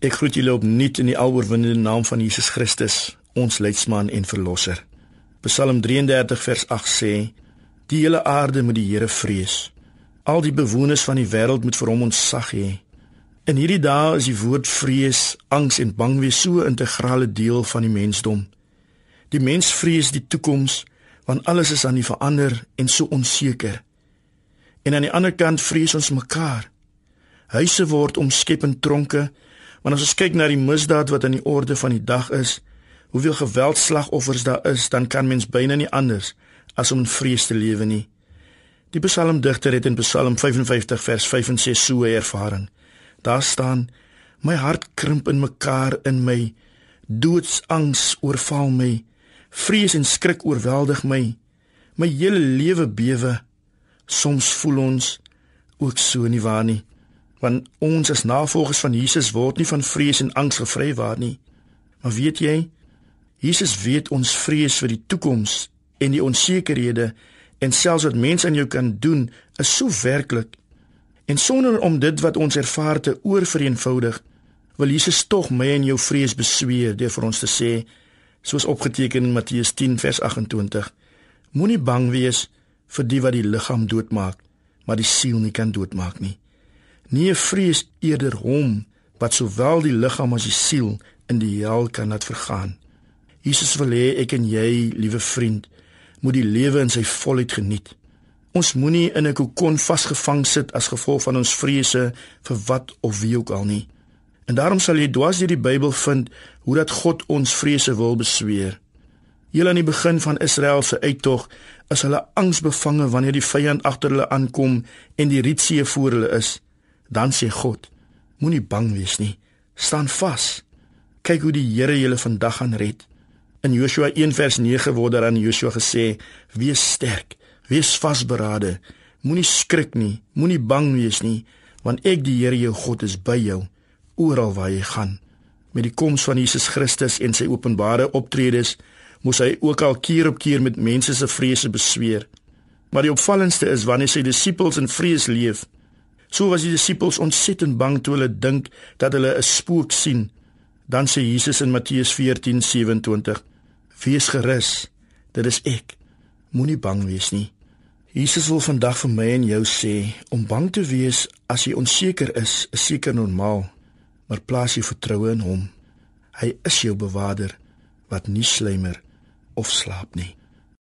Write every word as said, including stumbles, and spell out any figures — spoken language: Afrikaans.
Ek groet julle opnuut in die aloorwinnende naam van Jesus Christus, ons leidsman en verlosser. Psalm drieëndertig vers agt sê, die hele aarde moet die Here vrees. Al die bewoners van die wêreld moet vir hom ontzag hê. In hierdie dae is die woord vrees, angs en bangwees so 'n integrale deel van die mensdom. Die mens vrees die toekoms, want alles is aan die verander en so onseker. En aan die ander kant vrees ons mekaar. Huise word omskep in tronke, want as ons kyk na die misdaad wat aan die orde van die dag is, hoeveel geweldslagoffers daar is, dan kan mens byna nie anders as om in vrees te lewe nie. Die psalmdigter het in Psalm vyfenvyftig vers vyf en ses so 'n ervaring. Daar staan, my hart krimp in mekaar in my, doodsangs oorval my, vrees en skrik oorweldig my, my hele lewe bewe. Soms voel ons ook so nie waar nie, want ons as navolgers van Jesus word nie van vrees en angs gevrywaar nie. Maar weet jy, Jesus weet ons vrees vir die toekoms en die onsekerhede en selfs wat mense aan jou kan doen, is so werklik. En sonder om dit wat ons ervaar te oorvereenvoudig, wil Jesus tog my en jou vrees besweer deur vir ons te sê, soos opgeteken in Matteus tien vers agt-en-twintig, moenie bang wees vir die wat die liggaam doodmaak, maar die siel nie kan doodmaak nie. Nee, vrees eerder hom, wat sowel die liggaam as die siel in die hel kan laat vergaan. Jesus wil hê ek en jy, liewe vriend, moet die lewe in sy volheid geniet. Ons moenie in 'n kokon vasgevang sit as gevolg van ons vrese vir wat of wie ook al nie. En daarom sal jy dwars deur die Bybel vind hoe dat God ons vrese wil besweer. Heel aan die begin van Israel se uittog is hulle angsbevange wanneer die vyand agter hulle aankom en die Rietsee voor hulle is. Dan sê God, moenie bang wees nie, staan vas. Kyk hoe die Here julle vandag gaan red. In Joshua een vers nege word daar aan Joshua gesê, wees sterk, wees vasberade, moenie skrik nie, moenie bang wees nie, want ek die Here jou God is by jou, oral waar jy gaan. Met die koms van Jesus Christus en sy openbare optredes, moes hy ook al keer op keer met mense se vrese besweer. Maar die opvallendste is wanneer sy disippels in vrees leef. So was die disippels ontsettend bang toe hulle dink dat hulle 'n spook sien. Dan sê Jesus in Matteus veertien sewenentwintig, wees gerus, dit is ek, moenie bang wees nie. Jesus wil vandag vir my en jou sê, om bang te wees as jy onseker is, is seker normaal, maar plaas jy vertroue in hom. Hy is jou bewaarder, wat nie sluimer of slaap nie.